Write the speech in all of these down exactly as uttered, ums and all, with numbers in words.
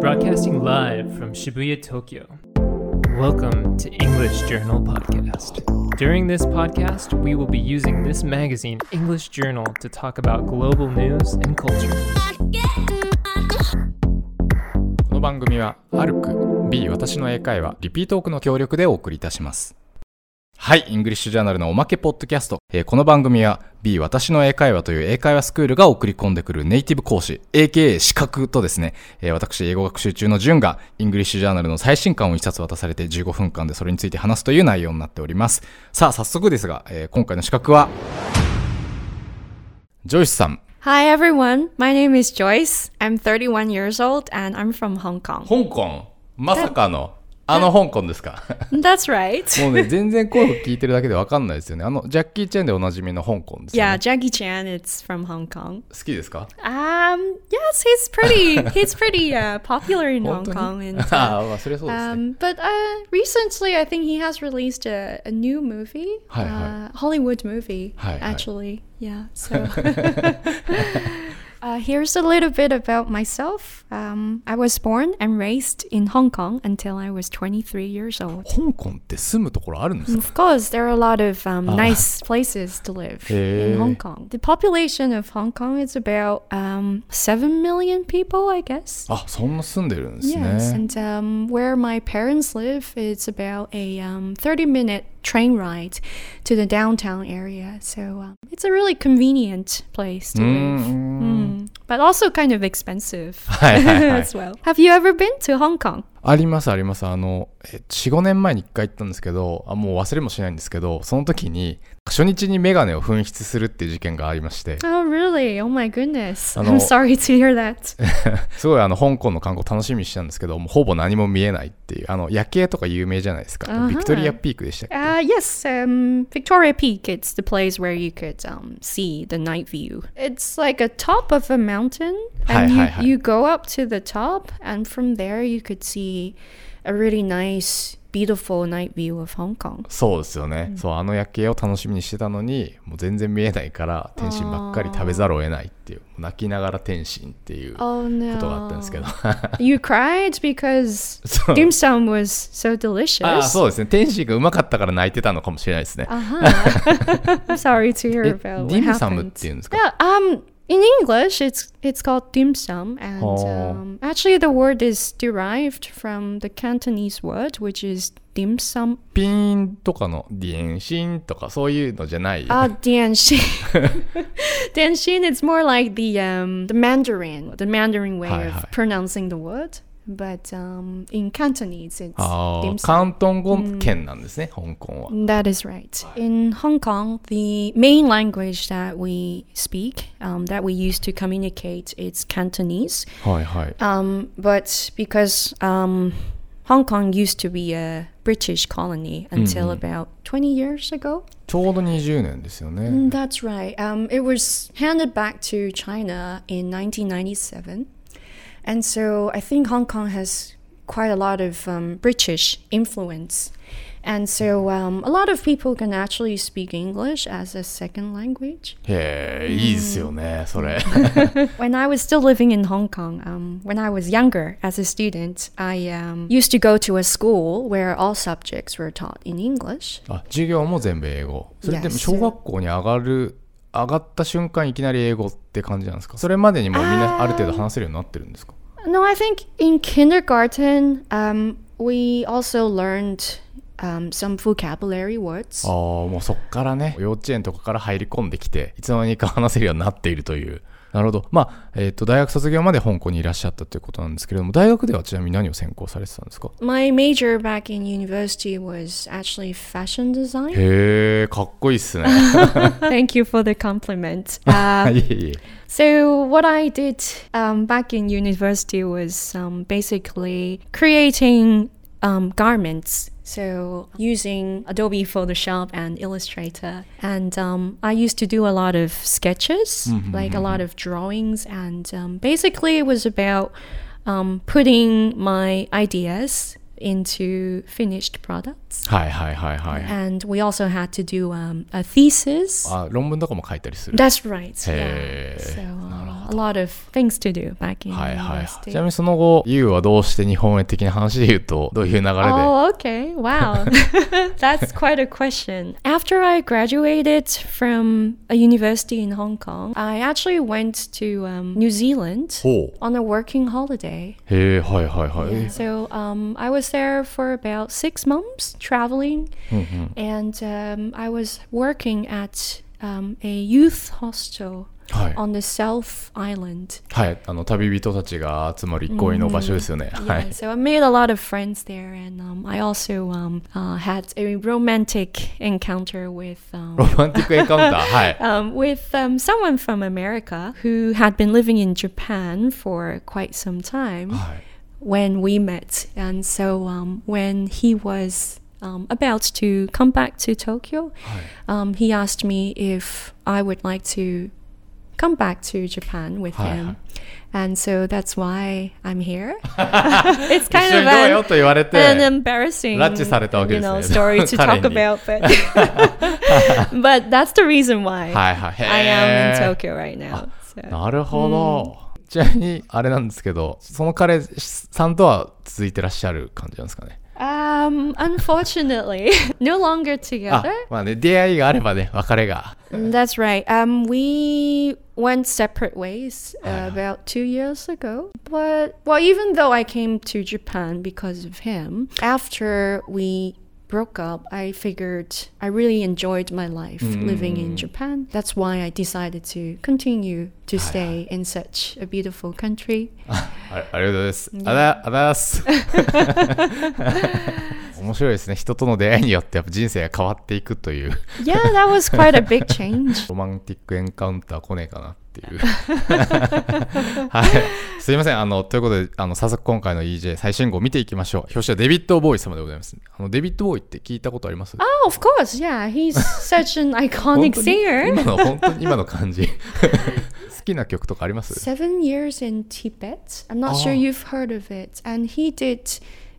Broadcasting live from Shibuya, Tokyo. Welcome to English Journal Podcast. During this podcast, we will be using this magazine, English Journal, to talk about global news and culture. この番組は アルク B 私の英会話リピートークの協力でお送りいたします。はい、イングリッシュジャーナルのおまけポッドキャスト、えー、この番組は B 私の英会話という英会話スクールが送り込んでくるネイティブ講師 エーケーエー 資格とですね、えー、私英語学習中のジュンがイングリッシュジャーナルの最新刊を一冊渡されてじゅうごふんかんでそれについて話すという内容になっております。さあ早速ですが、えー、今回の資格はジョイスさん。 Hi everyone, my name is Joyce. I'm thirty-one years old and I'm from Hong Kong. 香港、まさかのあの香港ですか？ That's right. もうね、全然声を聞いてるだけで分かんないですよね。あのジャッキー・チェンでおなじみの香港ですよね。 Yeah, Jackie Chan, it's from Hong Kong. 好きですか？ Um, yes, he's pretty, he's pretty uh, popular in Hong 本当に Kong. And, あ uh, あ、それそうですね。 um, but uh, recently, I think he has released a, a new movie, はいはい。 uh, Hollywood movie, はいはい。 actually. Yeah, so... Uh, here's a little bit about myself. Um, I was born and raised in Hong Kong until I was twenty-three years old. 香港って住むところあるんですか？ Of course, there are a lot of um, Ah. nice places to live in Hong Kong. The population of Hong Kong is about um, seven million people, I guess. あ、そんな住んでるんですね。 Yes, and um, where my parents live, it's about a um, thirty minute train ride to the downtown area. So um, it's a really convenient place to live. Mm. But also kind of expensive はいはいはい。 as well. Have you ever been to Hong Kong? ありますあります。あの、えよん、ごねんまえにいっかい行ったんですけど、あ、もう忘れもしないんですけど、その時に初日にメガネを紛失するっていう事件がありまして。 Oh, really? Oh my goodness. あの、 I'm sorry to hear that. すごいあの香港の観光楽しみにしてたんですけど、もうほぼ何も見えないっていう、あの夜景とか有名じゃないですか。 Uh-huh. ビクトリアピークでしたっけ？ Uh, yes, um, Victoria Peak. It's the place where you could um, see the night view. It's like a top of a mountain, and Hi, you, hi, hi. you go up to the top, and from there you could see a really nice, beautiful night view of Hong Kong. そうですよね、うん、そう、あの夜景を楽しみにしてたのにもう全然見えないから天津ばっかり食べざるを得ないっていう、泣きながら天津っていうことがあったんですけど、 oh, no. You cried because dim sum was so delicious. ああ、そうですね、天津がうまかったから泣いてたのかもしれないですね。 uh-huh. I'm sorry to hear about what happened. ディムサムっていうんですか？ Yeah, um, in English, it's it's called dim sum, and um, actually the word is derived from the Cantonese word, which is dim sum. ピーンとかのディエンシンとかそういうのじゃない。 Ah, dianshin. Dianshin, it's more like the um the Mandarin, the Mandarin way hi, of hi. pronouncing the word. But um, in Cantonese, it's あ dim sum. 広東語圏なんですね、mm. 香港は。 That is right. In Hong Kong, the main language that we speak, um, that we use to communicate, is Cantonese. はいはい。 Um, but because um, Hong Kong used to be a British colony until mm-hmm. about twenty years ago. ちょうどにじゅうねんですよね。 That's right. Um, it was handed back to China in nineteen ninety-seven. And so I think Hong Kong has quite a lot of um, British influence. And so um, a lot of people can actually speak English as a second language. へえ、いいですよね、それ。 When I was still living in Hong Kong, um, when I was younger as a student, I um, used to go to a school where all subjects were taught in English. あ、授業も全部英語。それでも小学校に上がる、上がった瞬間いきなり英語って感じなんですか？それまでにもうみんなある程度話せるようになってるんですか？ No, I think in kindergarten, um, we also learned um, some vocabulary words. ああ、もうそっからね、幼稚園とかから入り込んできて、いつの間にか話せるようになっているという。なるほど。まあ、えっと、大学卒業まで香港にいらっしゃったということなんですけれども、大学ではちなみに何を専攻されてたんですか？ My major back in university was actually fashion design. へえ、かっこいいっすね。 Thank you for the compliment. Uh, いえいえ。 So what I did um, back in university was um, basically creating um, garments. So using Adobe Photoshop and Illustrator. And um, I used to do a lot of sketches, mm-hmm, like mm-hmm. a lot of drawings. And um, basically it was about um, putting my ideas into finished products. はいはいはいはい。 And we also had to do um, a thesis. あ、論文とかも書いたりする。 That's right. へー。 Yeah. So, なるほ a lot of things to do back in はいはい。 university. ちなみにその後、ユウはどうして日本へ的な話で言うと、どういう流れで Oh, okay. Wow. That's quite a question. After I graduated from a university in Hong Kong, I actually went to um, New Zealand ほう on a working holiday. へえ、はいはいはい。 Yeah, so um, I was there for about six months traveling, うんうん and um, I was working at um, a youth hostel はい on the South Island. はい、あの旅人たちが集まる憩いの場所ですよね。は Yeah, い。 so I made a lot of friends there, and um, I also um, uh, had a romantic encounter with ロ um, マンティックエンカウンター、はい。 um, with um, someone from America who had been living in Japan for quite some time はい when we met. And so um, when he was um, about to come back to Tokyo, はい um, he asked me if I would like to come back to Japan with はいはい him. And so that's why I'm here. It's 一 kind 緒 of にどうよ an, と言われて、 an embarrassing, 拉致されたわけ you ですね。 know, story to 彼 talk に about, but but that's the reason why はいはい。へー I am in Tokyo right now. So. なるほど。ちなみにあれなんですけど、その彼さんとは続いてらっしゃる感じなんですかね。 Um, unfortunately, no longer あ together. まあね、出会いがあればね、別れが。 That's right. Um, we went separate ways uh, Ah. about two years ago. But, well, even though I came to Japan because of him, after we broke up, I figured I really enjoyed my life living in Japan. That's why I decided to continue to stay in such a beautiful country. あありがとうございます。あだ、あだす。面白いですね。人との出会いによってやっぱ人生が変わっていくという。 Yeah, that was quite a big change. ロマンティックエンカウンター来ねえかなっていう。はい。すいません。あの、ということで、あの、早速今回の イージェー 最新号を見ていきましょう。表紙はデビッド・ボーイ様でございます。あの、デビッド・ボーイって聞いたことあります？ Oh, of course. Yeah, he's such an 本 iconic 当に singer. 今の、本当に今の感じ。好きな曲とかあります？ Seven years in Tibet. I'm not Oh. sure you've heard of it. And he did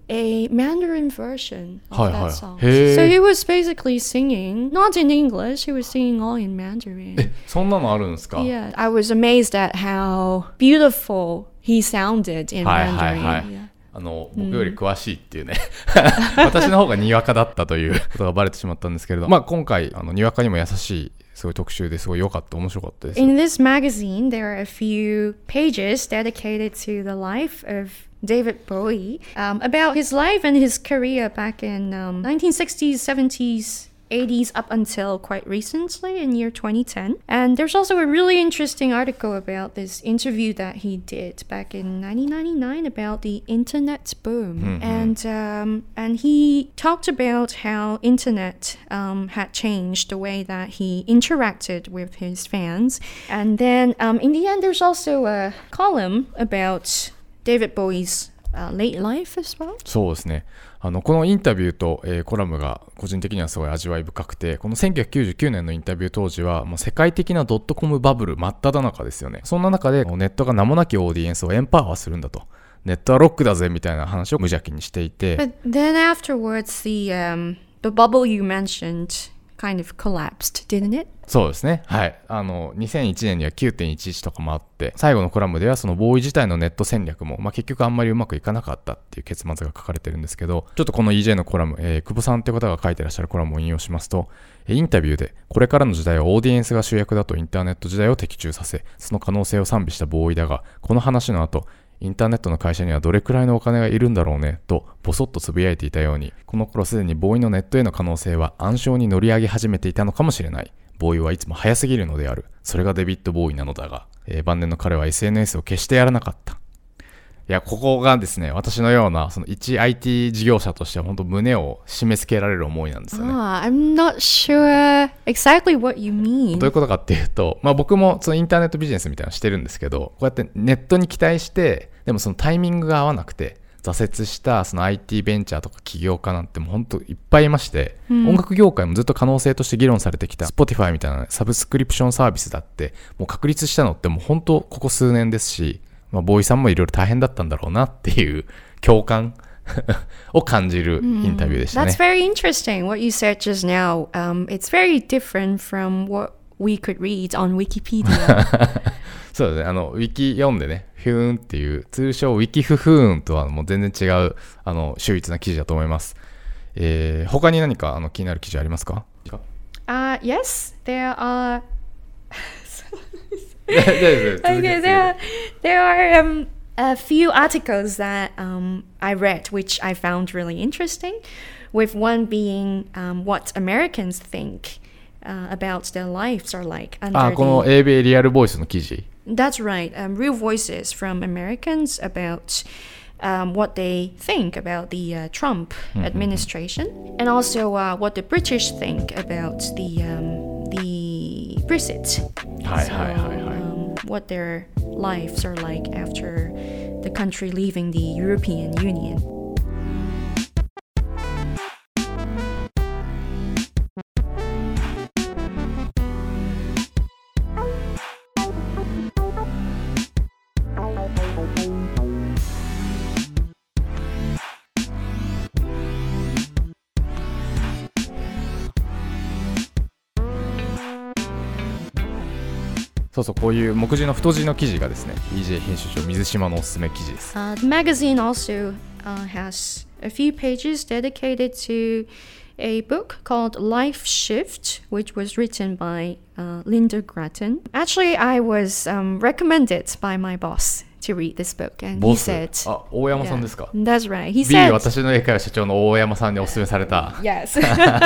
a Mandarin version of Hi, that hi. song. Hey. So he was basically singing, not in English, he was singing all in Mandarin. え、そんなのあるんですか？ Yeah, I was amazed at how beautiful he sounded in はいはい Mandarin. はい Yeah. あの僕より詳しいっていうね、私の方がにわかだったということがバレてしまったんですけれど、まあ今回あのにわかにも優しいすごい特集ですごい良かった面白かったです。 In this magazine, there are a few pages dedicated to the life of David Bowie, um, about his life and his career back in um, nineteen sixties, seventies, eighties up until quite recently in year twenty ten. And there's also a really interesting article about this interview that he did back in nineteen ninety-nine about the internet boom. And um, and he talked about how internet um, had changed the way that he interacted with his fans. And then um, in the end, there's also a column about David Bowie's uh, late life as well. そうですね。あのこのインタビューと、えーコラムが個人的にはすごい味わい深くて、このせんきゅうひゃくきゅうじゅうきゅうねんのインタビュー当時はもう世界的なドットコムバブル真っ只中ですよね。そんな中でネットが名もなきオーディエンスをエンパワーするんだと、ネットはロックだぜみたいな話を無邪気にしていて、 But then afterwards, the um, the bubble you mentioned kind of collapsed, didn't it? そうですね。はい。あの、にせんいちねんには きゅうてんいちいち とかもあって、最後のコラムではそのボーイ自体のネット戦略も、まあ、結局あんまりうまくいかなかったっていう結末が書かれてるんですけど、ちょっとこの イージェー のコラム、えー、久保さんっていう方が書いてらっしゃるコラムを引用しますと、インタビューで、これからの時代はオーディエンスが主役だとインターネット時代を的中させ、その可能性を賛美したボーイだが、この話の後、インターネットの会社にはどれくらいのお金がいるんだろうねとボソッとつぶやいていたように、この頃すでにボーイのネットへの可能性は暗礁に乗り上げ始めていたのかもしれない。ボーイはいつも早すぎるのである。それがデビッド・ボーイなのだが、えー、晩年の彼は エスエヌエス を決してやらなかった。いや、ここがですね、私のようなその一 アイティー 事業者としては本当胸を締め付けられる思いなんですよね。 Ah, I'm not sure exactly what you mean. どういうことかっていうと、まあ、僕もそのインターネットビジネスみたいなのしてるんですけど、こうやってネットに期待して、でもそのタイミングが合わなくて挫折したその アイティー ベンチャーとか起業家なんてもう本当いっぱいいまして、うん、音楽業界もずっと可能性として議論されてきた Spotify みたいなサブスクリプションサービスだってもう確立したのってもう本当ここ数年ですし、まあ、ボーイさんもいろいろ大変だったんだろうなっていう共感を感じるインタビューでしたね。 That's very interesting what you said just now. Um, it's very different from what we could read on Wikipedia. そうだね、あのウィキ読んでね、フューンっていう通称ウィキフフーンとはもう全然違うあの秀逸な記事だと思います。えー、他に何かあの気になる記事ありますか？ Uh, yes, there are. okay, there, there are um, a few articles that um, I read, which I found really interesting. With one being um, what Americans think uh, about their lives are like. あ、この英米リアルボイスの記事。 That's right. Um, real voices from Americans about um, what they think about the uh, Trump administration, and also uh, what the British think about the um, the Brexit. はいはいはいはい。 Um, what their lives are like after the country leaving the European Union. そうそう、こういう目次の太字の記事がですね、イージェー 編集長水島のおすすめ記事です。 Uh, the magazine also uh, has a few pages dedicated to a book called Life Shift, which was written by uh, Linda Grattan. Actually, I was um, recommended by my boss to read this book, and he said, あ、大山さんですか？ That's right. He B、 said, 私の英会話社長の大山さんにおすすめされた。 Yes.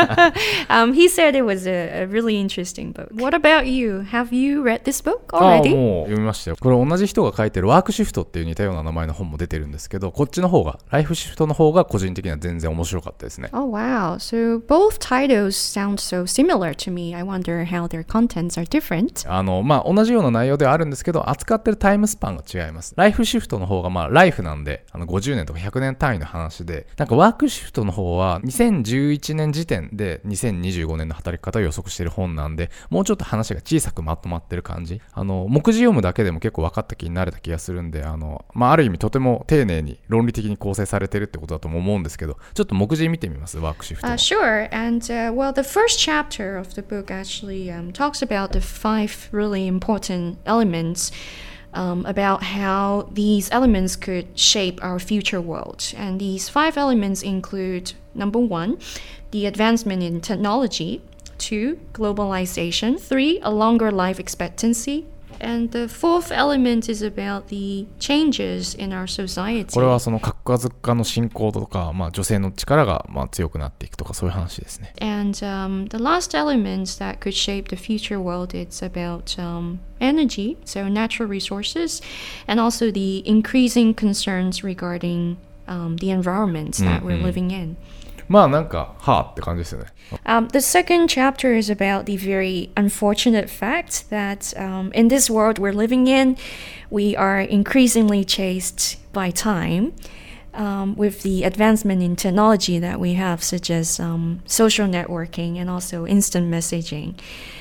um, he said it was a, a really interesting book. What about you? Have you read this book あ、 already? もう読みましたよ。これ同じ人が書いてるワークシフトっていう似たような名前の本も出てるんですけど、こっちの方がライフシフトの方が個人的には全然面白かったですね。 Oh wow. So both titles sound so similar to me. I wonder how their contents are different. あのまあ同じような内容ではあるんですけど、扱ってるタイムスパンが違います。ライフシフトの方がまあライフなんで、あのごじゅうねんとかひゃくねん単位の話で、なんかワークシフトの方はにせんじゅういちねん時点でにせんにじゅうごねんの働き方を予測している本なんで、もうちょっと話が小さくまとまってる感じ。あの目次読むだけでも結構分かった気になれた気がするんで、あのまあある意味とても丁寧に論理的に構成されてるってことだとも思うんですけど、ちょっと目次見てみます、ワークシフトの。 Uh, sure. And uh, well, the first chapter of the book actually um, talks about the five really important elements. Um, about how these elements could shape our future world. And these five elements include, number one, the advancement in technology, two, globalization, three, a longer life expectancy, and the fourth element is about the changes in our society. これはその核家族化の進行とか、まあ、女性の力がまあ強くなっていくとかそういう話ですね。 And um, the last element that could shape the future world is about um, energy, so natural resources, and also the increasing concerns regarding um, the environment that we're living in. まあなんかはぁって感じですよね。 Um, the second chapter is about the very unfortunate fact that um, in this world we're living in, we are increasingly chased by time um, with the advancement in technology that we have, such as um, social networking and also instant messaging.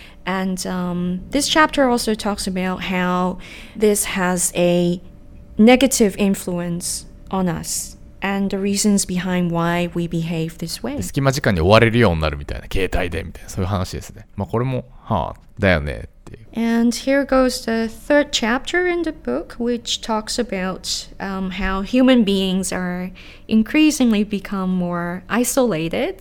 And um, this chapter also talks about how this has a negative influence on us.And the reasons behind why we behave this way. 隙間時間に追われるようになるみたいな、携帯でみたいな、そういう話ですね。まあこれも、はあ、だよねっていう。 And here goes the third chapter in the book, which talks about um, how human beings are increasingly become more isolated,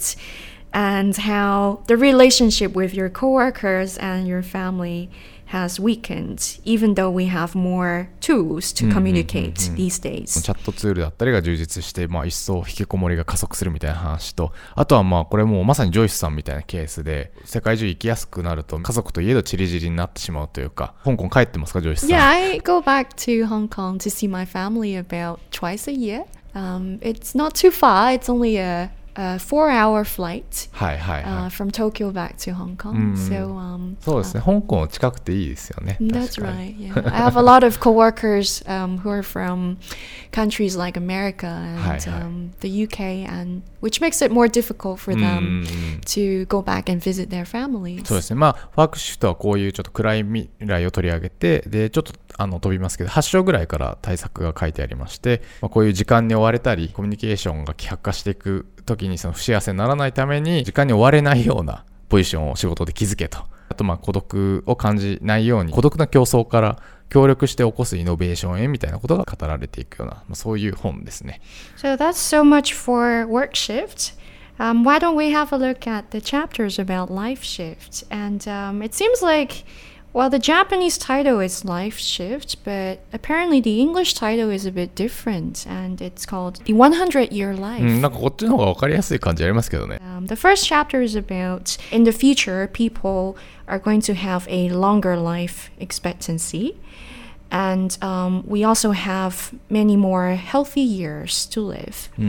and how the relationship with your coworkers and your family.has weakened, even though we have more tools to communicate these days. チャットツールだったりが充実して、まあ、一層引きこもりが加速するみたいな話と、あとはまあこれもうまさにジョイスさんみたいなケースで、世界中行きやすくなると家族といえどチリジリになってしまうというか。香港帰ってますか、ジョイスさん？ Yeah, I go back to Hong Kong to see my family about twice a year. Um, it's not too far. It's only a a four-hour flight はいはいはい、 uh, from Tokyo back to Hong Kong. うん、 so, um, そうですね、香港近くていいですよね。 That's right. Yeah. I have a lot of coworkers um, who are from countries like America and はいはい、 um, the U K, and which makes it more difficult for them to go back and visit their families. そうですね。まあワークシフトはこういうちょっと暗い未来を取り上げて、でちょっとあの飛びますけど、はち章ぐらいから対策が書いてありまして、まあ、こういう時間に追われたりコミュニケーションが希薄化していく時にその不幸せにならないために時間に追われないようなポジションを仕事で築けと。あとまあ孤独を感じないように孤独な競争から協力して起こすイノベーションへみたいなことが語られていくような、まあ、そういう本ですね。 So that's so much for work shift.Um, why don't we have a look at the chapters about life shift? And um, it seems like, well, the Japanese title is Life Shift, but apparently the English title is a bit different, and it's called The one hundred year Life. うん、なんかこっちの方が分かりやすい感じありますけどね。 Um, the first chapter is about, in the future, people are going to have a longer life expectancy.And um, we also have many more healthy years to live. うんうんうん。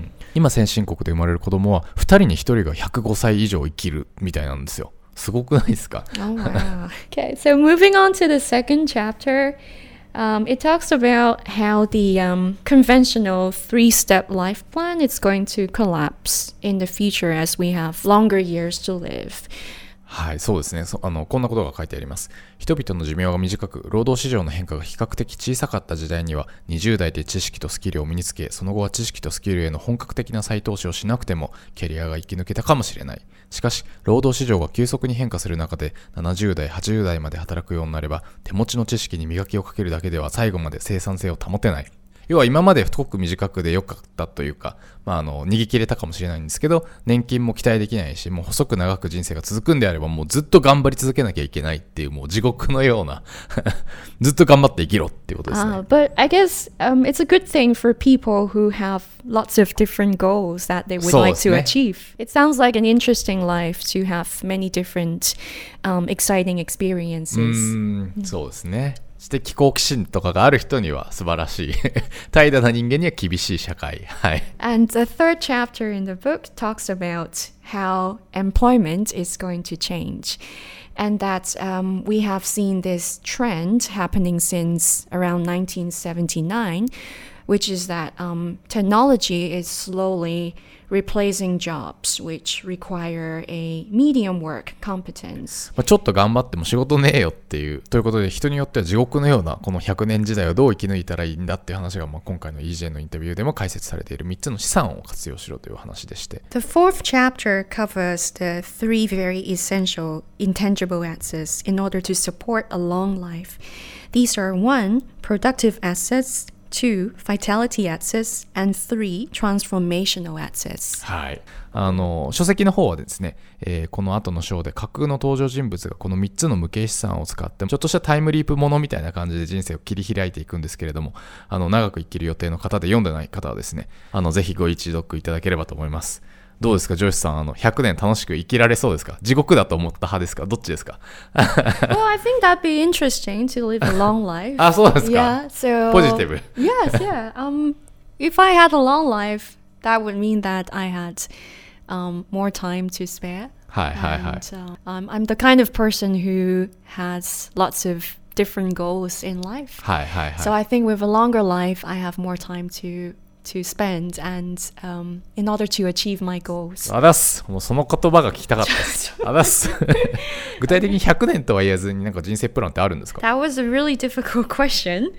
今先進国で生まれる子供はふたりにひとりがひゃくごさい以上生きるみたいなんですよ。すごくないですか？ Oh wow. Okay, so moving on to the second chapter, um, it talks about how the um, conventional three-step life plan is going to collapse in the future as we have longer years to live. はい、そうですね。そあのこんなことが書いてあります。人々の寿命が短く、労働市場の変化が比較的小さかった時代には、にじゅう代で知識とスキルを身につけ、その後は知識とスキルへの本格的な再投資をしなくても、キャリアが生き抜けたかもしれない。しかし、労働市場が急速に変化する中で、ななじゅう代、はちじゅう代まで働くようになれば、手持ちの知識に磨きをかけるだけでは最後まで生産性を保てない。要は今まで太く短くで良かったというか、まあ、あの逃げ切れたかもしれないんですけど、年金も期待できないし、もう細く長く人生が続くんであればもうずっと頑張り続けなきゃいけないっていうもう地獄のようなずっと頑張って生きろっていうことですね。 Uh, but I guess um, it's a good thing for people who have lots of different goals that they would like to achieve. It sounds like an interesting life to have many different um, exciting experiences. うーん、そうですね。知的好奇心とかがある人には素晴らしい怠惰な人間には厳しい社会、はい。 And the third chapter in the book talks about how employment is going to change, and that um, we have seen this trend happening since around nineteen seventy-nine, which is that um, technology is slowly replacing jobs which require a medium work competence. まあちょっと頑張っても仕事ねえよっていうということで、人によっては地獄のようなこのひゃくねん時代をどう生き抜いたらいいんだっていう話が、まあ今回の イージェー のインタビューでも解説されているみっつの資産を活用しろという話でして。 The fourth chapter covers the three very essential intangible assets in order to support a long life. These are one, productive assets.two, vitality assets, and three, transformational assets. はい。あの、書籍の方はですね、えー、この後の章で架空の登場人物がこのみっつの無形資産を使って、ちょっとしたタイムリープものみたいな感じで人生を切り開いていくんですけれども、あの、長く生きる予定の方で読んでない方はですね、あの、ぜひご一読いただければと思います。どうですか、ジョイスさん、あのひゃくねん楽しく生きられそうですか？地獄だと思った派ですか？どっちですか？ Well, I think that'd be interesting to live a long life. あ、そうですか。 Yeah, so ポジティブ。 Yes, yeah. Um, if I had a long life, that would mean that I had um more time to spare. はいはいはい。 And, uh, um, I'm the kind of person who has lots of different goals in life. はいはいはい。 So I think with a longer life, I have more time to to spend and um, in order to achieve my goals. あだっす。もうその言葉が聞きたかったです。あだっす。具体的にひゃくねんとは言えずになんか人生プランってあるんですか？ That was a really difficult question.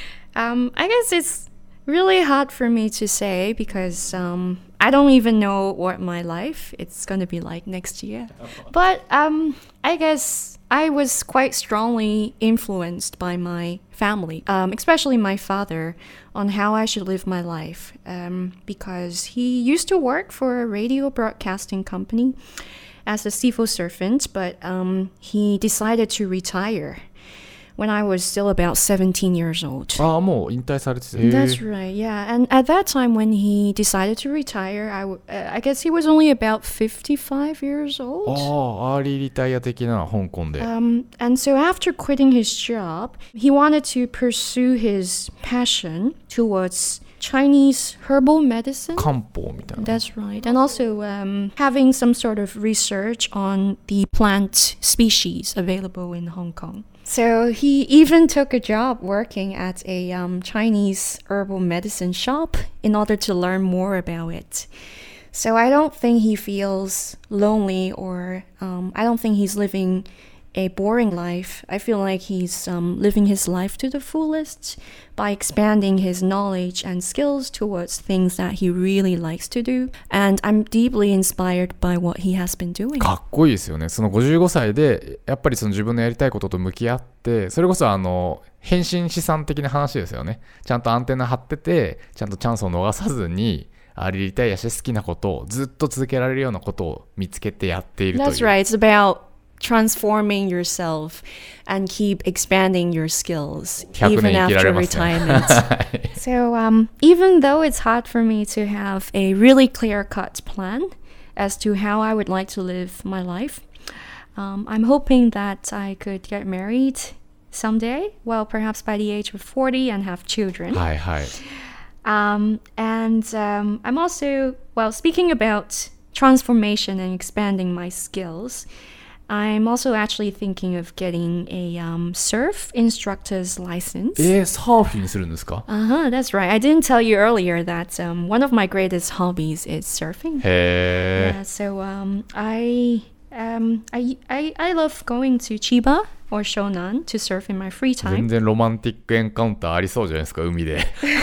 Um, I guess it's really hard for me to say because um, I don't even know what my life is going to be like next year. But um, I guess I was quite strongly influenced by my family, um, especially my father, on how I should live my life. Um, because he used to work for a radio broadcasting company as a civil servant, but um, he decided to retire when I was still about seventeen years old. ああ、もう引退されてて。 That's right, yeah. And at that time when he decided to retire, I, w- uh, I guess he was only about fifty-five years old. ああ、アーリーリタイア的な香港で。 Um, and so after quitting his job, he wanted to pursue his passion towards Chinese herbal medicine. 漢方みたいな。 That's right. And also um, having some sort of research on the plant species available in Hong Kong. So he even took a job working at a um, Chinese herbal medicine shop in order to learn more about it. So I don't think he feels lonely or um, I don't think he's living a boring life. I feel like he's um, living his life to the fullest by expanding his knowledge and skills towards things that he really likes to do. And I'm deeply inspired by what he has been doing. かっこいいですよね。そのごじゅうごさいでやっぱりその自分のやりたいことと向き合って、それこそあの変身資産的な話ですよね。ちゃんとアンテナ張ってて、ちゃんとチャンスを逃さずに、ありたいやし好きなことをずっと続けられるようなことを見つけてやっているという。 That's right. It's about transforming yourself and keep expanding your skills even after retirement. So um, even though it's hard for me to have a really clear-cut plan as to how I would like to live my life, um, I'm hoping that I could get married someday, well, perhaps by the age of forty, and have children. はいはい。 Um, and um, I'm also, well, speaking about transformation and expanding my skills,I'm also actually thinking of getting a um, surf instructor's license. えー、サーフィンするんですか？ Uh-huh, that's right. I didn't tell you earlier that um, one of my greatest hobbies is surfing. へー。 Yeah, so um, I, um, I, I, I love going to Chiba or Shonan to surf in my free 全 time. 然ロマンティックエンカウンターありそうじゃないですか、海で。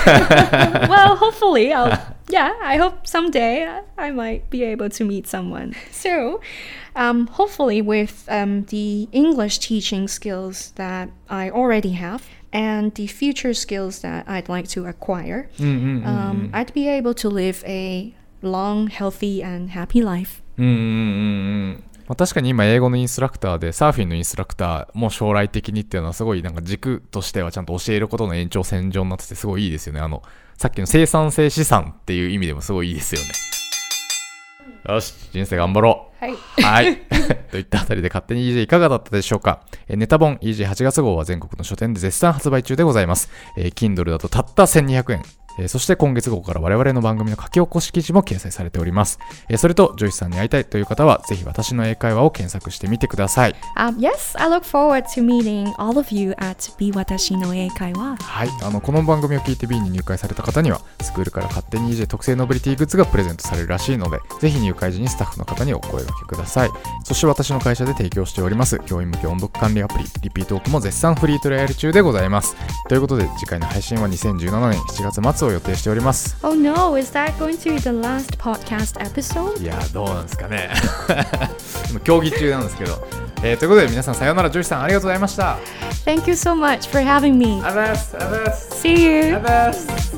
Well, hopefully, I'll, yeah, I hope someday I might be able to meet someone. So, um, hopefully with um, the English teaching skills that I already have and the future skills that I'd like to acquire, うんうんうんうん um, I'd be able to live a long, healthy, and happy life. うんうんうんうんまあ、確かに今英語のインストラクターでサーフィンのインストラクターも将来的にっていうのはすごいなんか軸としてはちゃんと教えることの延長線上になっててすごいいいですよね。あのさっきの生産性資産っていう意味でもすごいいいですよね。よし、人生頑張ろう。 はい。 はいといったあたりで勝手に イージェー いかがだったでしょうか。えネタ本 イージェーはち 月号は全国の書店で絶賛発売中でございます。えー、Kindle だとたったせんにひゃくえん。えー、そして今月号から我々の番組の書き起こし記事も掲載されております。えー、それとジョイスさんに会いたいという方はぜひ私の英会話を検索してみてください。 Um, yes, I look forward to meeting all of you at ビーわたしの英会話。 はい、あのこの番組を聞いて B に入会された方にはスクールから勝手に イージェー 特製ノベリティグッズがプレゼントされるらしいので、ぜひ入会時にスタッフの方にお声掛けください。そして私の会社で提供しております教員向け音読管理アプリリピートークも絶賛フリートライアル中でございます。ということで次回の配信はにせんじゅうななねんしちがつ末を予定しております。 Oh no, is that going to be the last podcast episode? いやどうなんですかね今競技中なんですけど、えー、ということで皆さんさようなら。ジョイさんありがとうございました。 Thank you so much for having me. ありがとうございます。ありがとうございます。 See you. ありがとうございます。